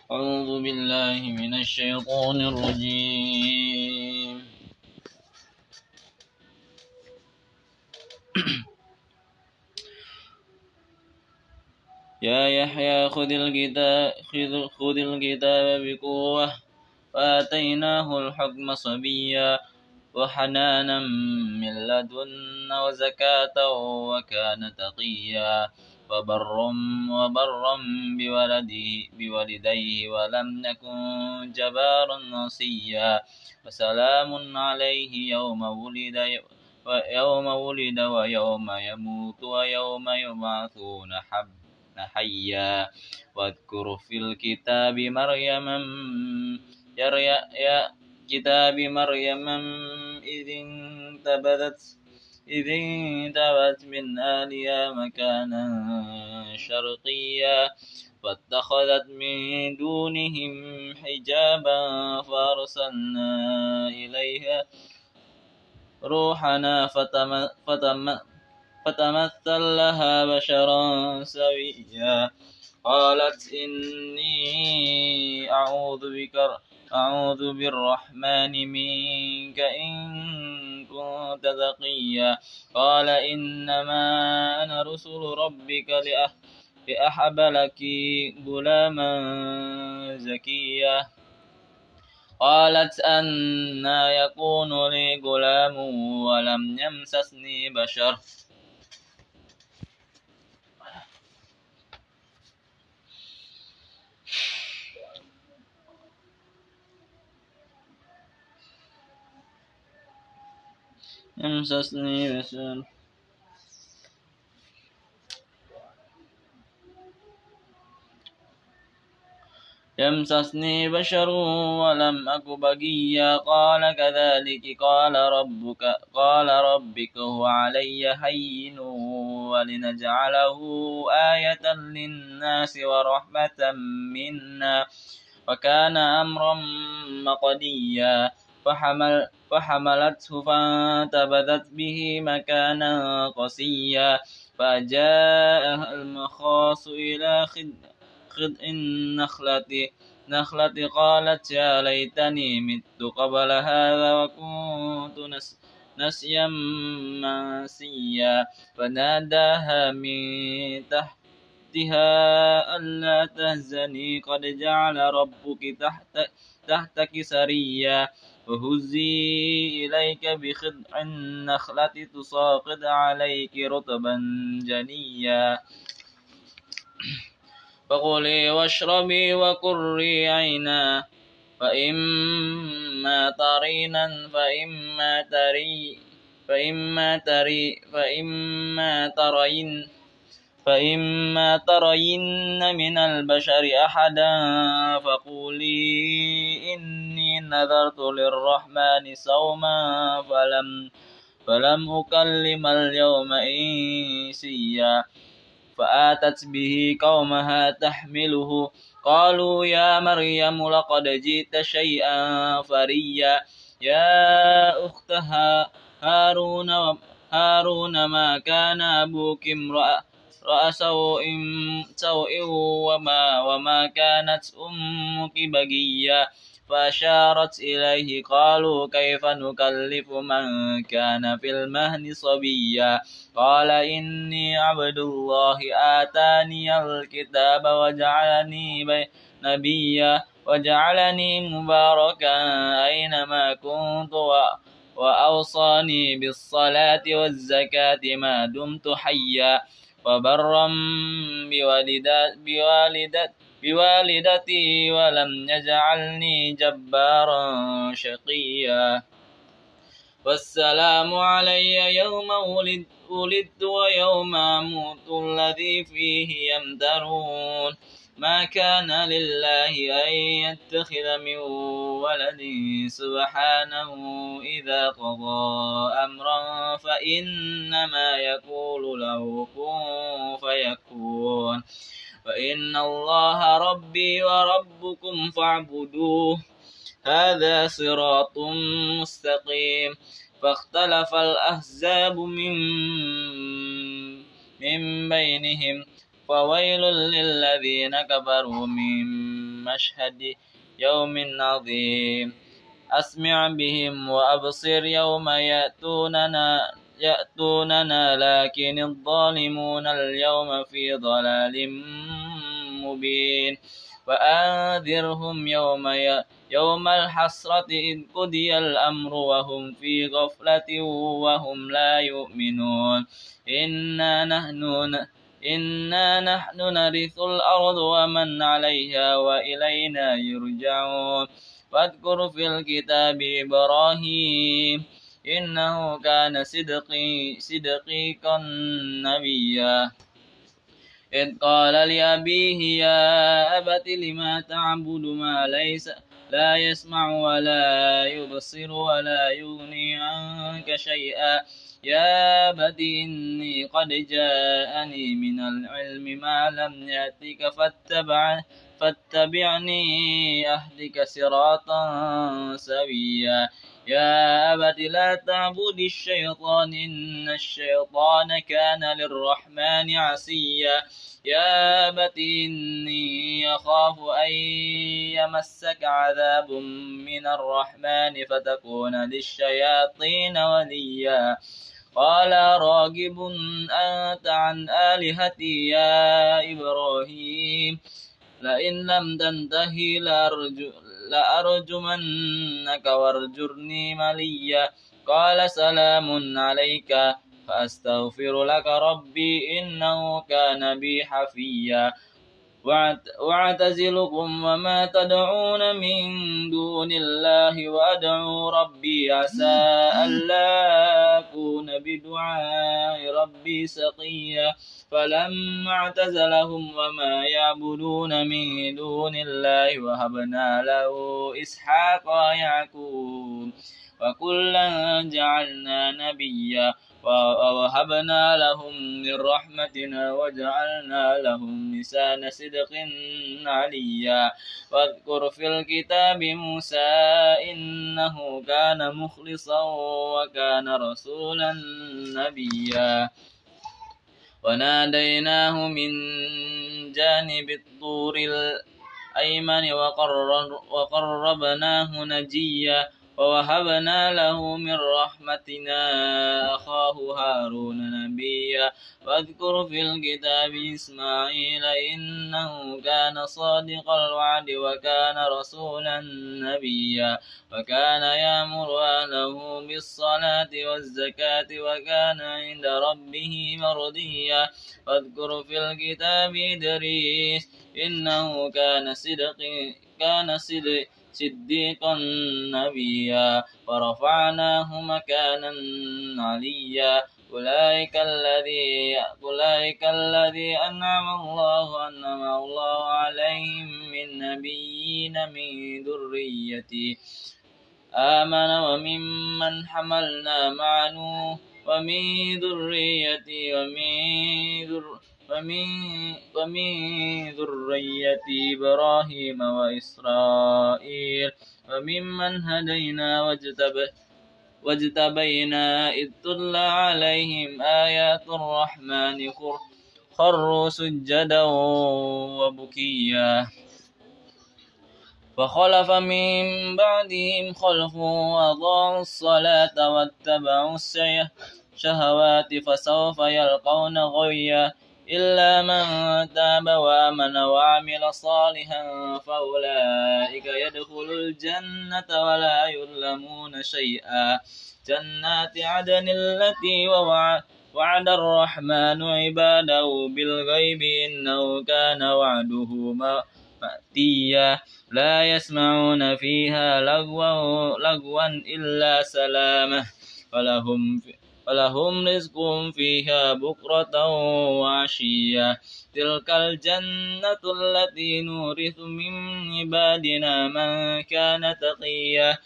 أعوذ بالله من الشيطان الرجيم. يا يحيى خذ الكتاب بقوة وآتيناه الحكم صبيا وحنانا من لدنا وزكاة وكان تقيا وبرا بوالديه ولم يكن جبارا عصيا وسلام عليه يوم ولد ويوم يموت ويوم يبعثون حيا واذكر في الكتاب مريم كتاب مريم إذ انتبذت من أهلها مكانا شرقيا فاتخذت من دونهم حجابا فأرسلنا إليها روحنا فتمثل لها بشرا سويا قالت إني أعوذ بالرحمن منك إن كنت تقيا قال إنما أنا رسول ربك لأحب لك غلاما زكيا قالت أنى يكون لي غلام ولم يمسسني بشر يمسسني بشر ولم أك بغيا قال كذلك قال ربك هو علي هين ولنجعله آية للناس ورحمة منا وكان أمرا مقضيا فحملته فانتبذت به مكانا قصيا فجاءها المخاص إلى خذ النخلة قالت يا ليتني مت قبل هذا وكنت نسيا منسيا فناداها من تحتها ألا تهزني قد جعل ربك تحتك سريا وهزي إليك بخذع النخلة تساقط عليك رطبا جنيا فكلي واشربي وقري عينا فإما ترين من البشر أحدا فقولي إني نذرت للرحمن صوما فلم أكلم اليوم إنسيا فآتت به قومها تحمله قالوا يا مريم لقد جئت شيئا فريا يا أخت هارون ما كان أبوك امرأ سوء وما كانت أمك بغيا فأشارت إليه قالوا كيف نكلف من كان في المهد صبيا قال إني عبد الله آتاني الكتاب وجعلني نبيا وجعلني مباركا أينما كنت وأوصاني بالصلاة والزكاة ما دمت حيا وبرا بوالدتي ولم يجعلني جبارا شقيا والسلام علي يوم ولدت ويوم أموت الذي فيه يمترون ما كان لله أن يتخذ من ولد سبحانه إذا قضى أمرا فإنما يقول له كن فيكون فإن الله ربي وربكم فاعبدوه هذا صراط مستقيم فاختلف الأحزاب من بينهم فويل للذين كفروا من مشهد يوم عظيم أسمع بهم وأبصر يوم يأتوننا لكن الظالمون اليوم في ضلال مبين وأنذرهم يوم الحسرة إذ قضي الأمر وهم في غفلة وهم لا يؤمنون إنا نحن نرث الأرض ومن عليها وإلينا يرجعون واذكر في الكتاب إبراهيم إنه كان صديقا نبيا إذ قال لأبيه يا أبت لم تعبد ما لا يسمع ولا يبصر ولا يغني عنك شيئا يا أبت إني قد جاءني من العلم ما لم يأتك فاتبعني أهدك صراطا سويا يا أبت لا تعبد الشيطان إن الشيطان كان للرحمن عصيا يا أبت إني أخاف أن يمسك عذاب من الرحمن فتكون للشياطين وليا قال راغب أنت عن آلهتي يا إبراهيم لئن لم تنتهي لأرجمنك وارجرني مليا قال سلام عليك فأستغفر لك ربي إنه كان بي حفيا واعتزلكم وما تدعون من دون الله وأدعو ربي عسى ألا أكون بدعاء ربي سقيا فلما اعتزلهم وما يعبدون من دون الله وهبنا له إسحاق ويعقوب وكلا جعلنا نبيا ووهبنا لهم من رحمتنا وجعلنا لهم لسان صدق عليا واذكر في الكتاب موسى إنه كان مخلصا وكان رسولا نبيا وناديناه من جانب الطور الأيمن وقربناه نجيا ووهبنا له من رحمتنا أخاه هارون نبيا واذكر في الكتاب إسماعيل إنه كان صادق الوعد وكان رسولا نبيا وكان يأمر أهله بالصلاة والزكاة وكان عند ربه مرضيا واذكر في الكتاب إدريس إنه كان صديقا نبيا ورفعناه مكانا عليا أولئك الذي أنعم الله عليهم من نبيين من ذريتي آمن وممن حملنا مع نوح ومن ذريتي ومن ذرية إبراهيم وإسرائيل وممن هدينا واجتبينا إذ تتلى عليهم آيات الرحمن خروا سجدا وبكيا فخلف من بعدهم خلف أضاعوا الصلاة واتبعوا الشهوات فسوف يلقون غيا إلا من تاب وآمن وعمل صالحا فأولئك يدخلوا الجنة ولا يظلمون شيئا جنات عدن التي وعد الرحمن عباده بالغيب إنه كان وعده مأتيا لا يسمعون فيها لغوا إلا سلامة ولهم رزق فيها بكرة وعشيا تلك الجنة التي نورث من عبادنا من كان تقيا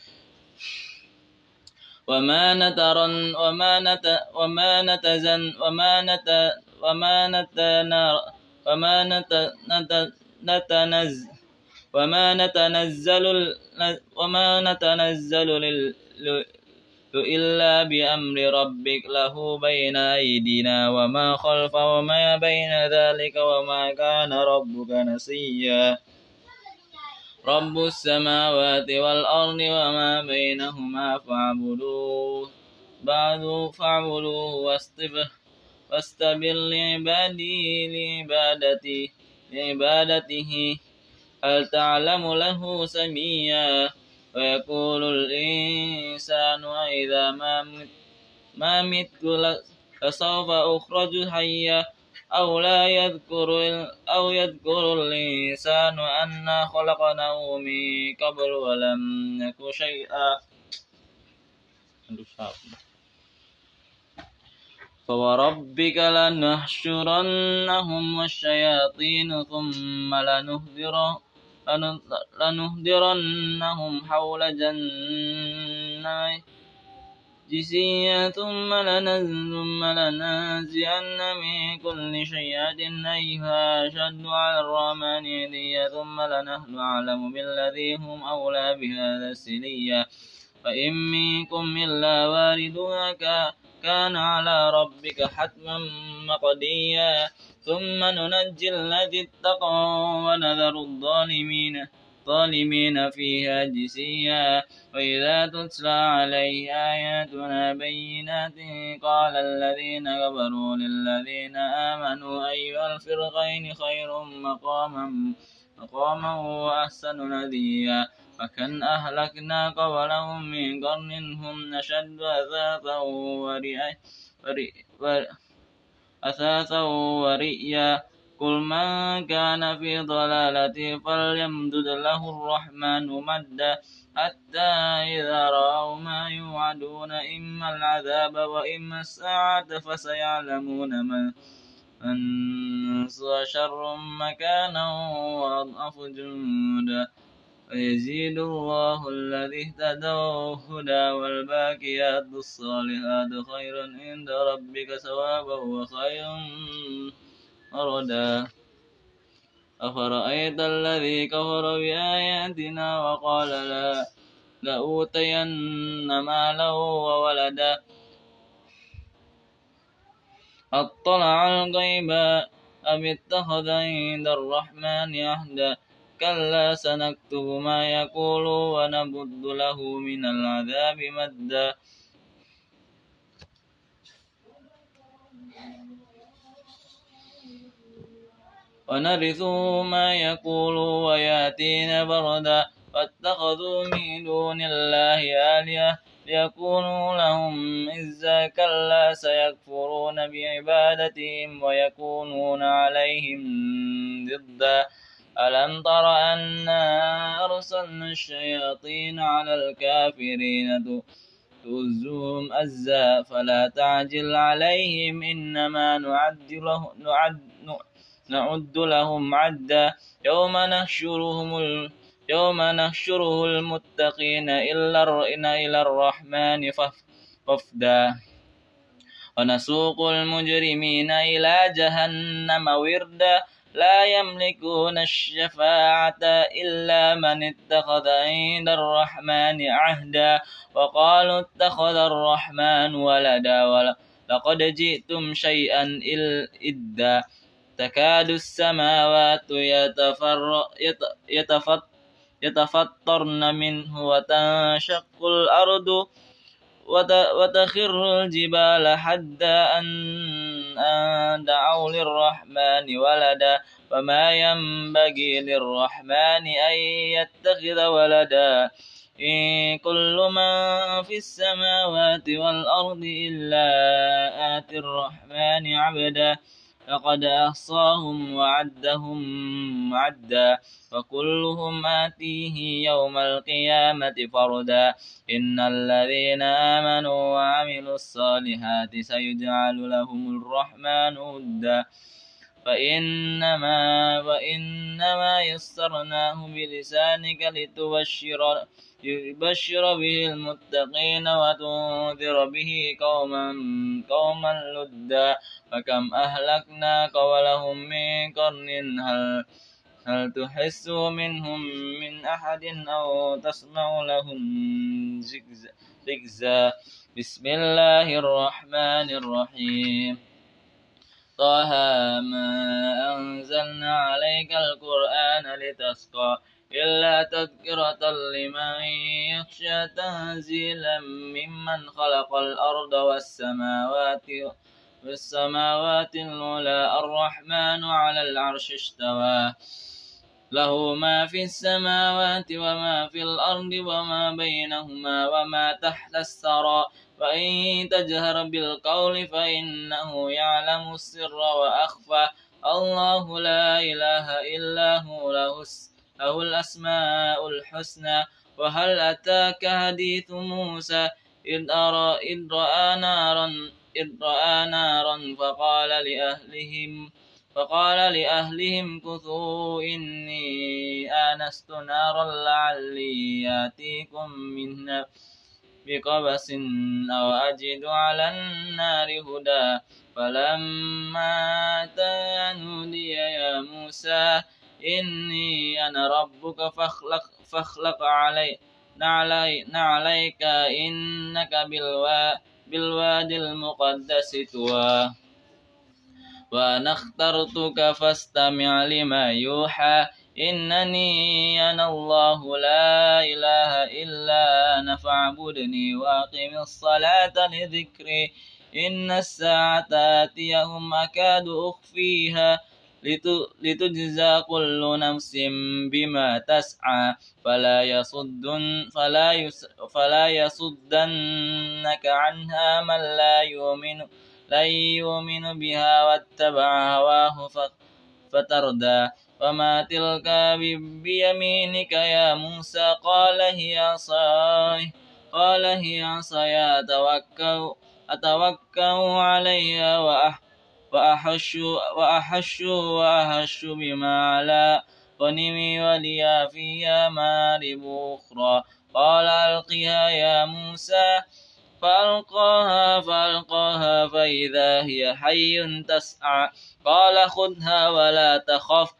وما نتنزل إلا بأمر ربك له بين أيدينا وما خلف وما بين ذلك وما كان ربك نسيا رب السماوات والأرض وما بينهما فاعبدوه واستبر لعبادته هل تعلم له سميا ويقول الإنسان إذا ما مت لسوف أخرج حيا أو يذكر الإنسان أنا خلقناه من قبل ولم نك شيئا فوربك لنحشرنهم والشياطين ثم لنهدرنهم حول جثيا ثم لننزعن من كل شيعة أيها أشد على الرحمن عتيا ثم لنحن أعلم بالذين هم أولى بهذا السليا فإن منكم إلا واردها كان على ربك حتما مقضيا ثم ننجي الذي اتقوا ونذر الظالمين فيها جثيا وإذا تتلى عليه آياتنا بينات قال الذين كفروا للذين آمنوا أي الفرقين خير مقاما وأحسن نديا فكم أهلكنا قبلهم من قرن هم أشد أثاثا ورئيا قل من كان في ضلالة فليمدد له الرحمن مدا حتى إذا رأوا ما يوعدون إما العذاب وإما الساعة فسيعلمون من شر مكانا وأضعف جندا ويزيد الله الذي اهتدوا هدى والباقيات الصالحات خير عند ربك ثوابا وخير مردا أفرأيت الذي كفر بآياتنا وقال لأوتين مالا وولدا أطلع الغيب أم اتخذ عند الرحمن عهدا كلا سنكتب ما يقول ونمد له من العذاب مدا ونرثه ما يقول وياتينا بردا واتخذوا من دون الله آلهة ليكونوا لهم عزا كلا سيكفرون بعبادتهم ويكونون عليهم ضدا ألم تر أنا أرسلنا الشياطين على الكافرين تؤزهم أزا فلا تعجل عليهم إنما نعد لهم عدا يوم نحشره المتقين إلى الرحمن وفدا ونسوق المجرمين إلى جهنم وردا لا يملكون الشفاعة إلا من اتخذ عند الرحمن عهدا وقالوا اتخذ الرحمن ولدا لقد جئتم شيئا إدا تكاد السماوات يتفطرن منه وتنشق الأرض وتخر الجبال حتى أن دعوا للرحمن ولدا وما ينبغي للرحمن أن يتخذ ولدا إن كل من في السماوات والأرض إلا آتي الرحمن عبدا لقد أحصاهم وعدهم عدا وكلهم آتيه يوم القيامة فردا إن الذين آمنوا وعملوا الصالحات سيجعل لهم الرحمن ودا وإنما يسرناه بلسانك لتبشر به المتقين وتنذر به قوما لدا فكم أهلكنا قبلهم من قرن هل تحس منهم من أحد أو تسمع لهم ركزا بسم الله الرحمن الرحيم طه ما أنزلنا عليك القرآن لتشقى إلا تذكرة لمن يخشى تنزيلا ممن خلق الأرض والسماوات العلى الرحمن على العرش استوى له ما في السماوات وما في الأرض وما بينهما وما تحت الثرى وإن تجهر بالقول فإنه يعلم السر وأخفى الله لا إله إلا هو له الأسماء الحسنى وهل أتاك حديث موسى إذ رأى نارا فقال لأهلهم كثوا إني آنست نارا لعلي آتيكم منها بقبس أو أجد على النار هدى فلما أتى نودي يا موسى إني أنا ربك فاخلق نعليك إنك بالوادي المقدس طوى وأنا اخترتك فاستمع لما يوحى إنني أنا الله لا إله إلا أنا فاعبدني وأقم الصلاة لذكري إن الساعة آتيهم أكاد أخفيها لتجزى كل نفس بما تسعى فلا يصدنك عنها من لا يؤمن بها واتبع هواه فتردى وما تلك بيمينك يا موسى قال هي عصاي أتوكأ عليها وأحش بما على غنمي ولي فيها مآرب أخرى قال ألقها يا موسى فألقاها فإذا هي حي تسعى قال خذها ولا تخف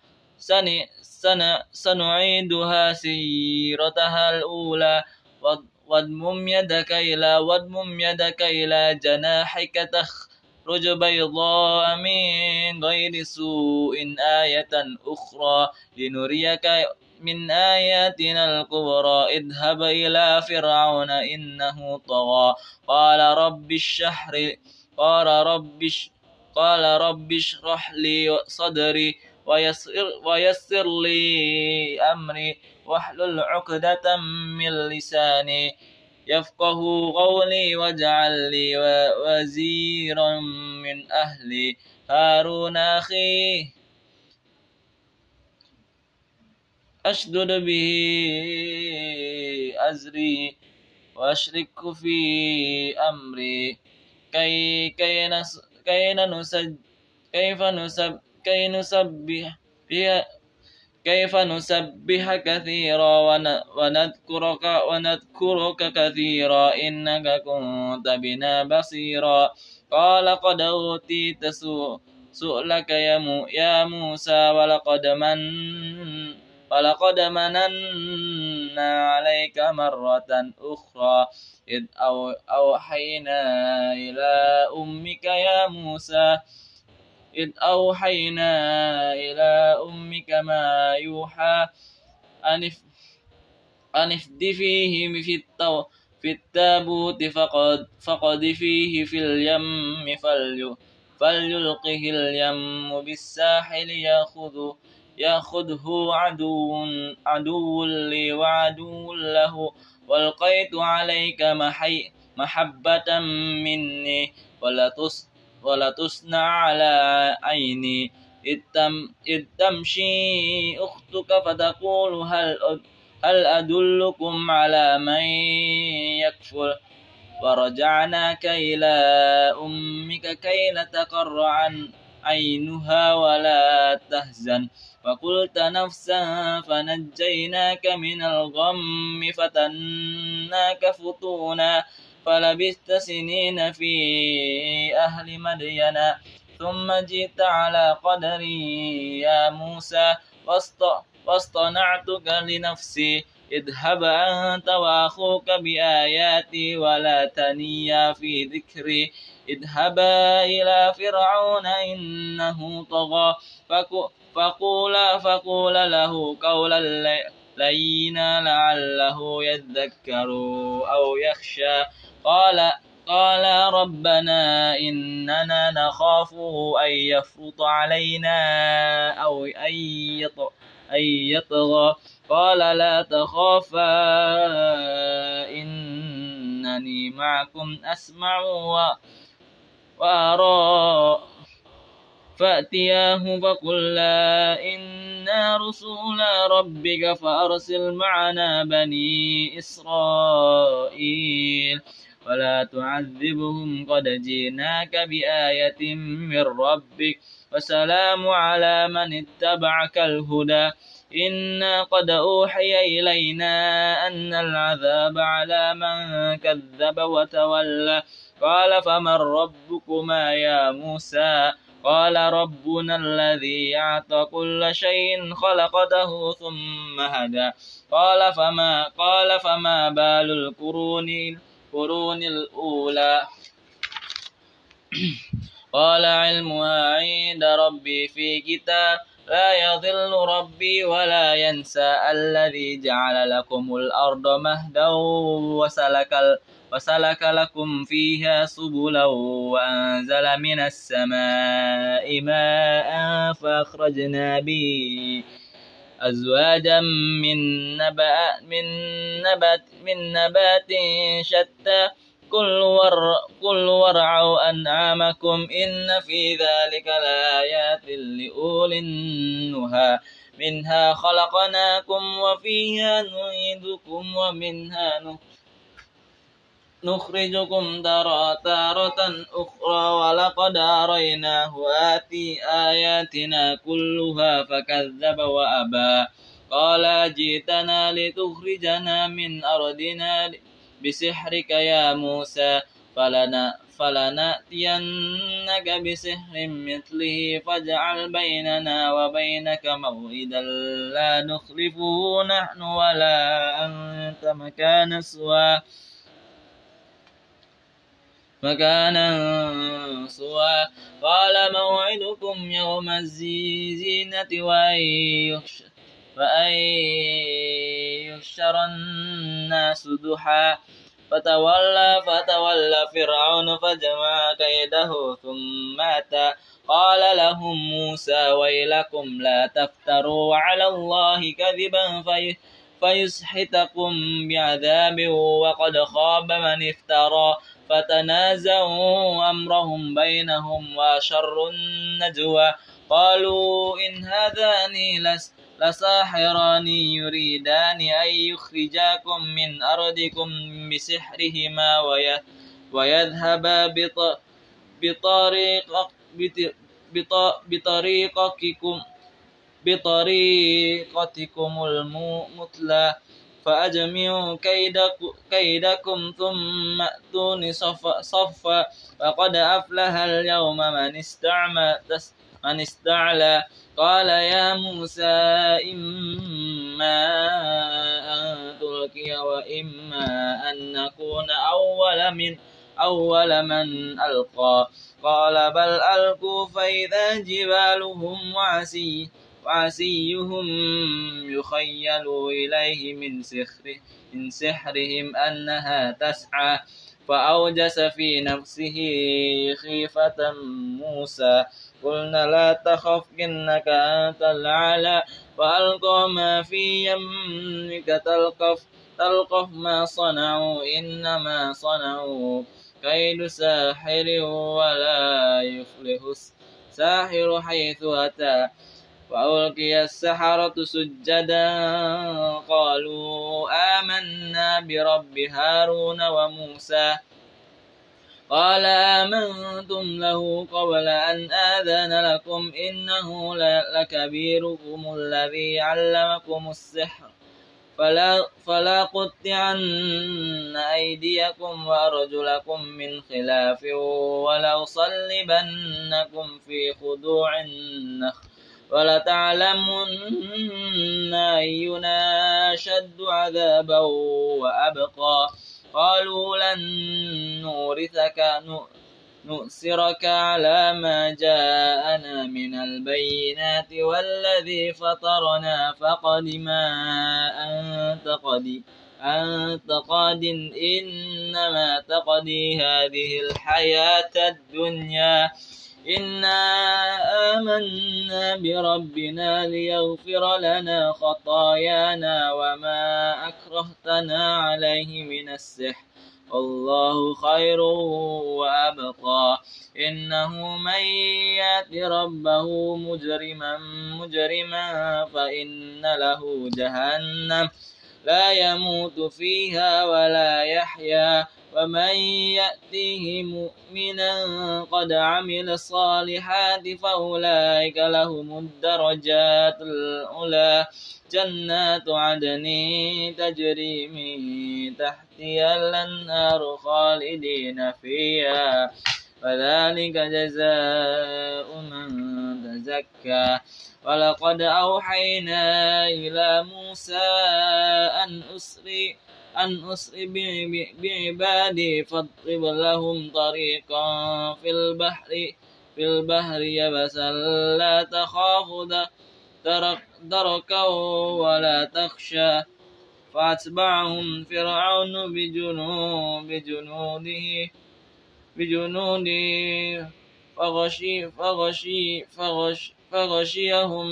سنعيدها سيرتها الأولى واضمم يدك إلى جناحك تخرج بيضاء من غير سوء آية أخرى لنريك من آياتنا الكبرى اذهب إلى فرعون إنه طغى قال رب اشرح لي صدري ويسر لي أمري واحلل عقدة من لساني يفقه قولي واجعل لي وزيرا من أهلي هارون أخي أشدد به أزري وأشركه في أمري كيف نسبح كثيرا ونذكرك كثيرا إنك كنت بنا بصيرا قال قد أوتيت سؤلك يا موسى ولقد مننا عليك مرة أخرى إذ أوحينا إلى أمك ما يوحى أن اقذفيه في التابوت فقذفيه في اليم فليلقه اليم بالساحل يأخذه عدو لي وعدو له والقيت عليك محبة مني ولا تصنع على عيني إذ تمشي أختك فتقول هل أدلكم على من يكفل ورجعناك إلى أمك كي لا تقر عينها ولا تحزن وقلت نفسا فنجيناك من الغم فتناك فتونا فلبثت سنين في أهل مدين ثم جئت على قدري يا موسى واصطنعتك لنفسي اذهب أنت وأخوك بآياتي ولا تنيا في ذكري اذهبا إلى فرعون إنه طغى فقولا له لينا لعله يذكر أو يخشى. قال ربنا إننا نخاف أن يفرط علينا أو أن يطغى. قال لا تخافا إنني معكم أسمع وأرى. فأتياه فقلا إنا رسول ربك فأرسل معنا بني إسرائيل ولا تعذبهم قد جئناك بآية من ربك وسلام على من اتبعك الهدى. إنا قد أوحي إلينا أن العذاب على من كذب وتولى. قال فمن ربكما يا موسى؟ قال ربنا الذي أعطى كل شيء خلقته ثم هدى. قال فما بال القرون الأولى؟ قال علمها عند ربي في كتاب لا يضل ربي ولا ينسى. الذي جعل لكم الأرض مهدا وسلك لكم فيها سبلا وأنزل من السماء ماء فأخرجنا به أزواجا من نبات شتى كل ورعوا أنعامكم إن في ذلك لآيات لأولي النهى. منها خلقناكم وفيها نعيدكم ومنها نخرجكم تارة أخرى ولقد أريناه آياتنا كلها فكذب وأبى. قال جئتنا لتخرجنا من أرضنا بسحرك يا موسى فلنأتينك بسحر مثله فاجعل بيننا وبينك موعدا لا نخلفه نحن ولا أنت مكانا سوى. قال موعدكم يوم الزينة وأن يحشر الناس ضحى. فتولى فرعون فجمع كيده ثم أتى. قال لهم موسى ويلكم لا تفتروا على الله كذبا فيسحتكم بعذاب وقد خاب من افترى. فتنازعوا أمرهم بينهم وأسروا النجوى. قالوا إن هذان لساحران يريدان أن يخرجاكم من أرضكم بسحرهما ويذهبا بطريقتكم المثلى فأجمعوا كيدكم ثم أتوني صفا. وقد أفلح اليوم من استعلى. قال يا موسى إما أن تلقي وإما أن نكون أول من ألقى. قال بل ألقوا فإذا جبالهم وعصيهم يخيل إليه من سحرهم أنها تسعى. فأوجس في نفسه خيفة موسى. قلنا لا تخف إنك أنت الأعلى وألقى ما في يمك تلقف ما صنعوا إنما صنعوا كيد ساحر ولا يفلح الساحر حيث أتى. وألقي السحرة سجدا قالوا آمنا برب هارون وموسى. قال آمنتم له قبل أن آذن لكم إنه لكبيركم الذي علمكم السحر فلا قطعن أيديكم وأرجلكم من خلاف ولأصلبنكم في خضوع النخل ولتعلمن أينا أشد عذابا وأبقى. قالوا لن نؤثرك على ما جاءنا من البينات والذي فطرنا فقد ما أنت قاد إنما تقضي هذه الحياة الدنيا إنا آمنا بربنا ليغفر لنا خطايانا وما أكرهتنا عليه من السحر والله خير وأبقى إنه من يأت ربه مجرما فإن له جهنم لا يموت فيها ولا يحيا ومن يأتيه مؤمنا قد عمل الصالحات فأولئك لهم الدرجات العلى جنات عدن تجري من تحتها الأنهار خالدين فيها وذلك جزاء من تزكى ولقد أوحينا إلى موسى أن أسر بعبادي فاضرب لهم طريقا في البحر يبسا لا تخاف دركا ولا تخشى فأتبعهم فرعون بجنوده فغشيهم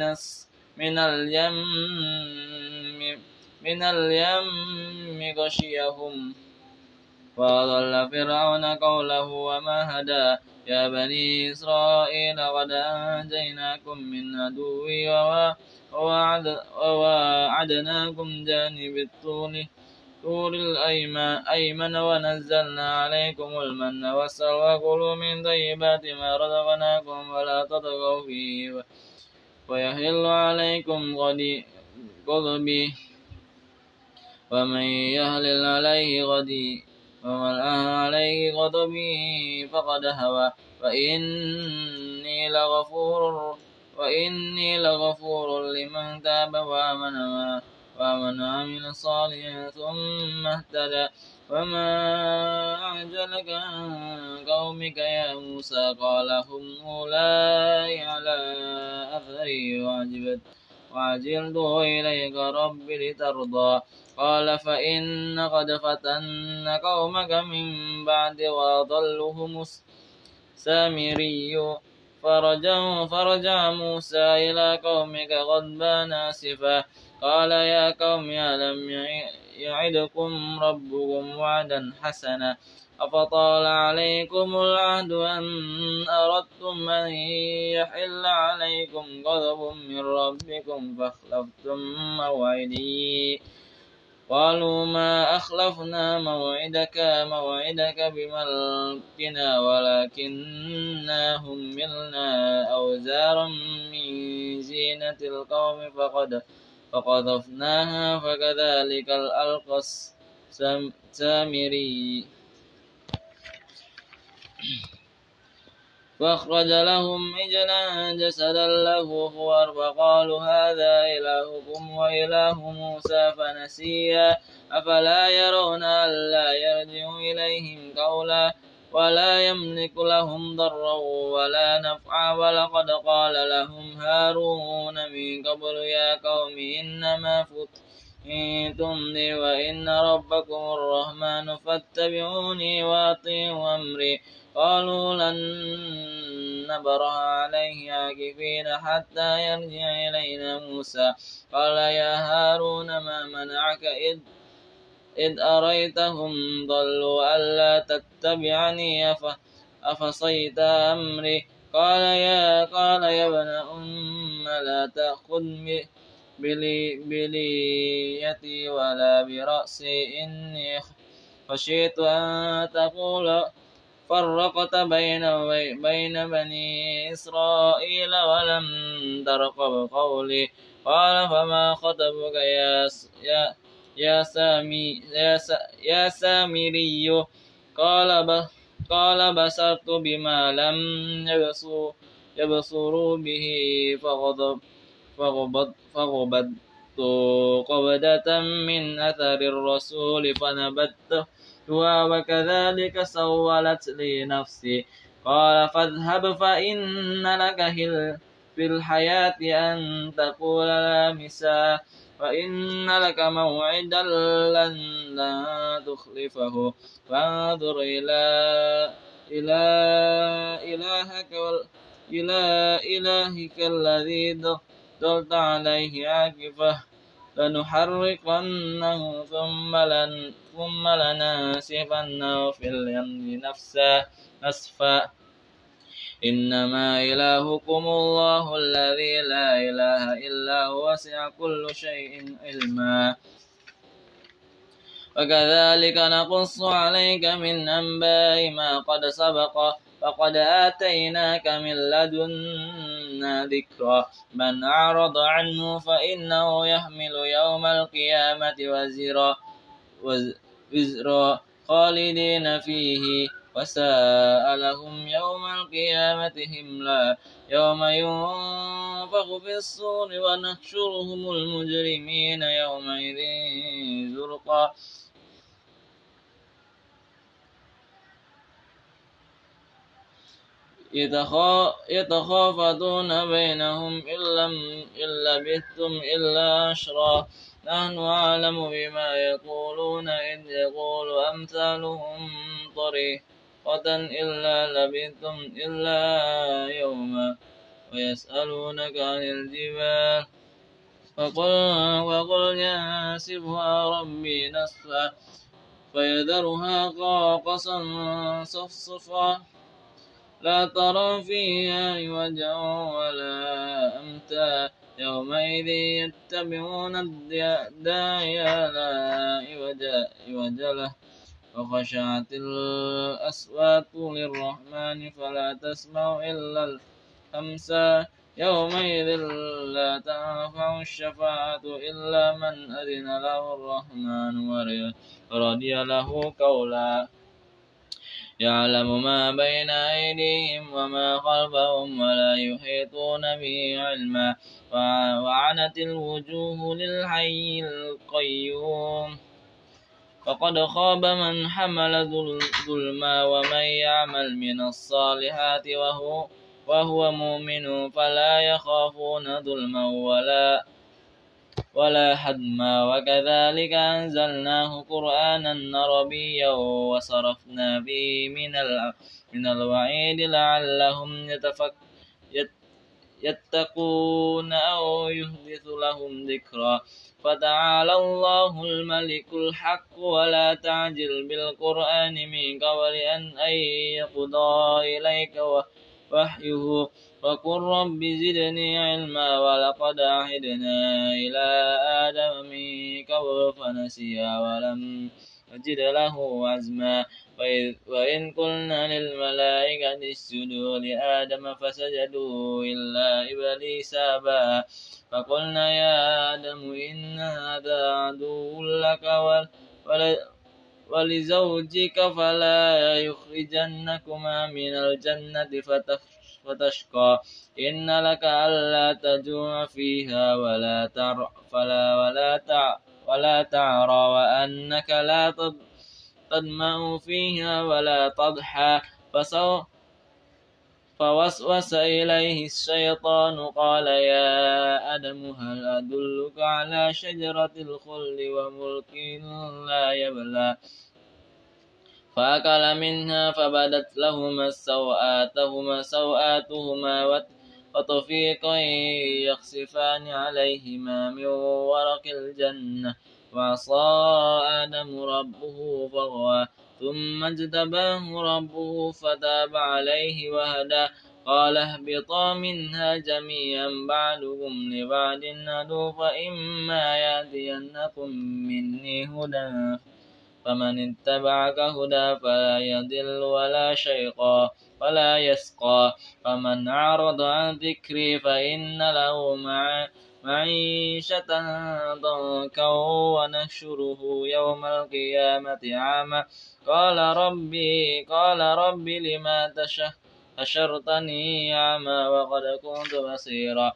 من اليم غشيهم وأضل فرعون قوله وما هدى يا بني إسرائيل قد أنجيناكم من عدوي ووعدناكم جانب الطور الأيمن ونزلنا عليكم المن والسلوى كلوا من طيبات ما رزقناكم ولا تطغوا فيه ويحل عليكم غضبي ومن يهلل عليه غضبي فقد هوى وإني لغفور لمن تاب وآمن وعمل صالحا ثم اهتدى وما أعجلك عن قومك يا موسى قال هم أولئك على أثري وعجلت إليك رب لترضى قال فإن قد فتن قومك من بعد وأضلهم السامري فرجع موسى إلى قومك غضبان آسفا قال يا قوم ألم يعدكم ربكم وعدا حسنا أفطال عليكم العهد أن أردتم أن يحل عليكم غضب من ربكم فأخلفتم موعدي قالوا ما أخلفنا موعدك بملكنا ولكننا حملنا أوزارا من زينة القوم فقذفناها فكذلك ألقى السامري فأخرج لهم عجلا جسدا له خوار فقالوا هذا إلهكم وإله موسى فنسيا أفلا يرون ألا يرجع إليهم قولا ولا يملك لهم ضرا ولا نفعا ولقد قال لهم هارون من قبل يا قوم إنما فتنتم لي وإن ربكم الرحمن فاتبعوني وأطيعوا أمري قالوا لن نبرح عليه عاكفين حتى يرجع إلينا موسى قال يا هارون ما منعك إذ أريتهم ضلوا ألا تتبعني أفصيت أمري قال يا ابن لا تأخذ بليتي ولا برأسي إني خشيت أن تقول فرقت بين بني إسرائيل ولم ترقب قولي قال فما خطبك يا سامري قال بصرت بما لم يبصروا به فغضب قبضة من أثر الرسول فنبذتها وكذلك سولت لي نفسي. قال فاذهب فإن لك في الحياة أن تقول لا مساس وإن لك موعدا لن تخلفه فانظر إلى إلى إلهك الذي ظلت عليه عاكفة لنحرقنه ثم لننسفنه في اليم نسفا إنما إلهكم الله الذي لا إله إلا هو وسع كل شيء علما وكذلك نقص عليك من أنباء ما قد سبق فقد آتيناك من لدنا ذكرا من أعرض عنه فإنه يحمل يوم القيامة وزرا خالدين فيه وساء لهم يوم القيامة حملا يوم ينفخ في الصور ونحشرهم المجرمين يومئذ زرقا يتخافتون بينهم إن لبثتم إلا عشرا نحن أعلم بما يقولون إذ يقول أمثالهم طريقة إلا لبثتم إلا يوما ويسألونك عن الجبال وقل ينسفها ربي نسفا فيذرها قاصا صفصفا لا ترى فيها عوجا ولا أمتا يومئذ يتبعون الداعي لا عوج له وخشعت الأصوات للرحمن فلا تسمع إلا الهمسا يومئذ لا تنفع الشفاعة إلا من أذن له الرحمن ورضي له قولا يعلم ما بين أيديهم وما خلفهم ولا يحيطون به علما وعنت الوجوه للحي القيوم فقد خاب من حمل ظلما ومن يعمل من الصالحات وهو مؤمن فلا يخافون ظلما ولا حدما وكذلك أنزلناه قرآنا عربيا وصرفنا به من الوعيد لعلهم يتقون أو يحدث لهم ذكرا فتعالى الله الملك الحق ولا تعجل بالقرآن من قبل أن يقضى إليك وحيه وقل رب زدني علما ولقد عهدنا إلى آدم من قبل فنسي ولم نجد له عزما وإن قلنا للملائكة اسجدوا لآدم فسجدوا إلا إبليس أبى فقلنا يا آدم إن هذا عدو لك ولزوجك فلا يخرجنكما من الجنة فتشقى إن لك ألا تجوع فيها ولا تعرى وأنك لا تظمأ فيها ولا تضحى فوسوس إليه الشيطان قال يا آدم هل أدلك على شجرة الخلد وملك لا يبلى فأكل منها فبدت لهما سوآتهما وطفيقا يخصفان عليهما من ورق الجنة وعصى آدم ربه فغوى ثم اجتباه ربه فتاب عليه وهدى قال اهبطا منها جميعا بعضكم لبعض عدو فإما يأتينكم مني هدى فمن اتبعك هدى فلا يضل ولا يسقى فمن أعرض عن ذكري فإن له معيشة ضنكا ونحشره يوم القيامة أعمى قال ربي لما حشرتني أعمى وقد كنت بصيرا.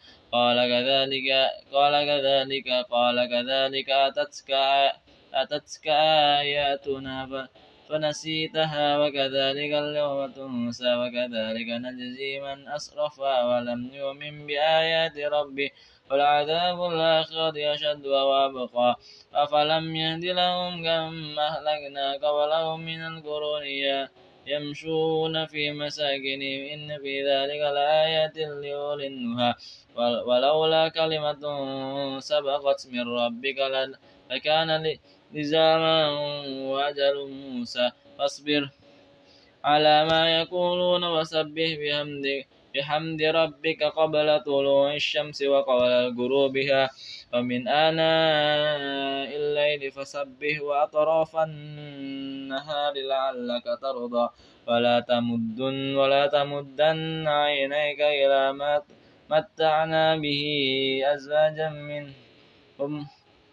قال كذلك أتتك آياتنا فنسيتها وكذلك اليوم تنسى وكذلك نجزي من أسرف ولم يؤمن بآيات ربه ولعذاب الآخرة أشد وأبقى. أفلم يهد لهم كم أهلكنا قبلهم من القرون يمشون في مساكنهم إن في ذلك لآيات لأولي النهى. ولولا كلمة سبقت من ربك لكان لزاما وأجل موسى. فاصبر على ما يقولون وسبح بحمد ربك قبل طلوع الشمس وقبل غروبها ومن آناء الليل فسبح وأطراف النهار لعلك ترضى. ولا تمدن عينيك إلى ما متعنا به أزواجا منهم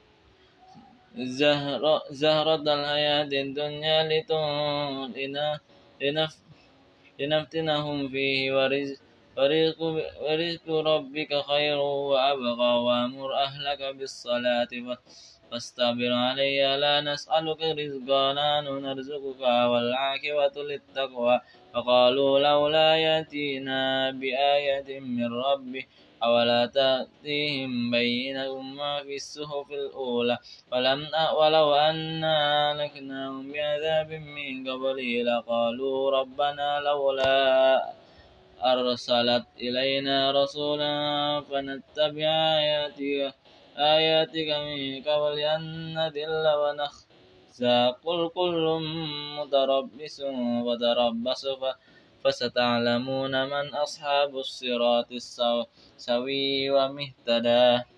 زهرة الحياة الدنيا لنفتنهم فيه ورزق ربك خير وأبقى. وأمر أهلك بالصلاة فاصطبر عليها لا نسألك رزقا نحن نرزقك والعاقبة للتقوى. فقالوا لولا يأتينا بآية من ربه أولا تأتيهم بينة ما في الصحف الأولى ولو أنا أهلكناهم بعذاب من قبله لقالوا ربنا لولا أرسلت إلينا رسولا فنتبع آياتك من قبل أن نذل ونخزى. قل كل متربص فتربصوا فستعلمون من أصحاب الصراط السوي ومن اهتدى.